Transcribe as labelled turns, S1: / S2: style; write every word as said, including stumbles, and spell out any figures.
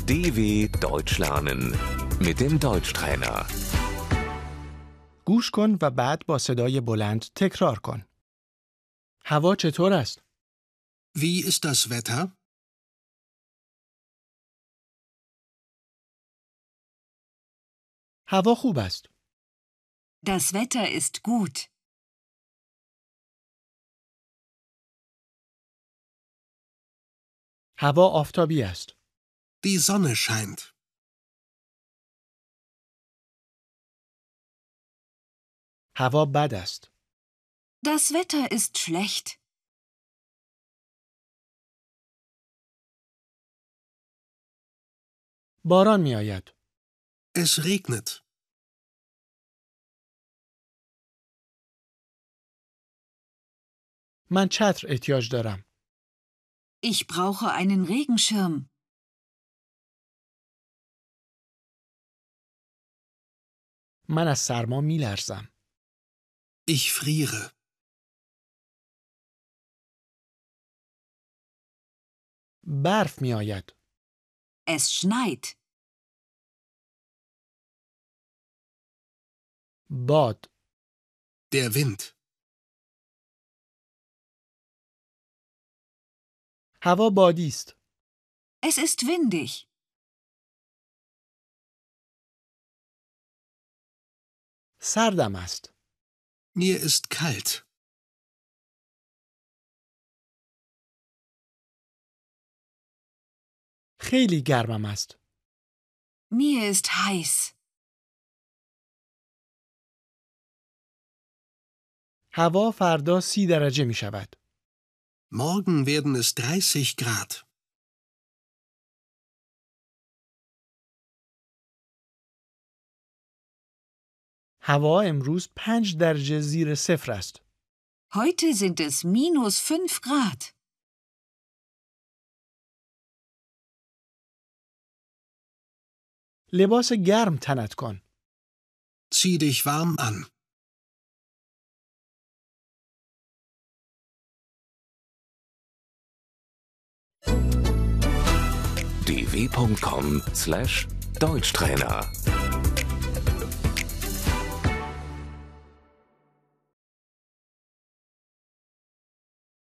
S1: D W Deutsch lernen mit dem Deutschtrainer.
S2: گوش کن و بعد با صدای بلند تکرار کن. هوا چطور است؟
S3: Wie ist das Wetter?
S2: هوا خوب است.
S4: Das Wetter ist gut.
S2: هوا آفتابی است.
S3: Die Sonne scheint.
S2: هوا بد است.
S4: Das Wetter ist schlecht.
S2: باران می آید.
S3: Es regnet.
S2: من چتر احتیاج دارم.
S4: Ich brauche einen Regenschirm.
S2: من از سرما می لرزم.
S3: Ich friere.
S2: برف می آید.
S4: Es schneit.
S2: باد.
S3: Der Wind.
S2: هوا بادی است.
S4: Es ist windig.
S2: سردم است.
S3: Mir ist kalt.
S2: خیلی گرمم است.
S4: Mir ist heiß.
S2: هوا فردا سی درجه می شود.
S3: Morgen werden es dreißig Grad.
S2: هوا امروز پنج درجه زیر صفر است.
S4: Heute sind es minus fünf Grad.
S2: لباس گرم تنت کن.
S3: Zieh dich warm an.
S1: d w punkt com slash Deutschtrainer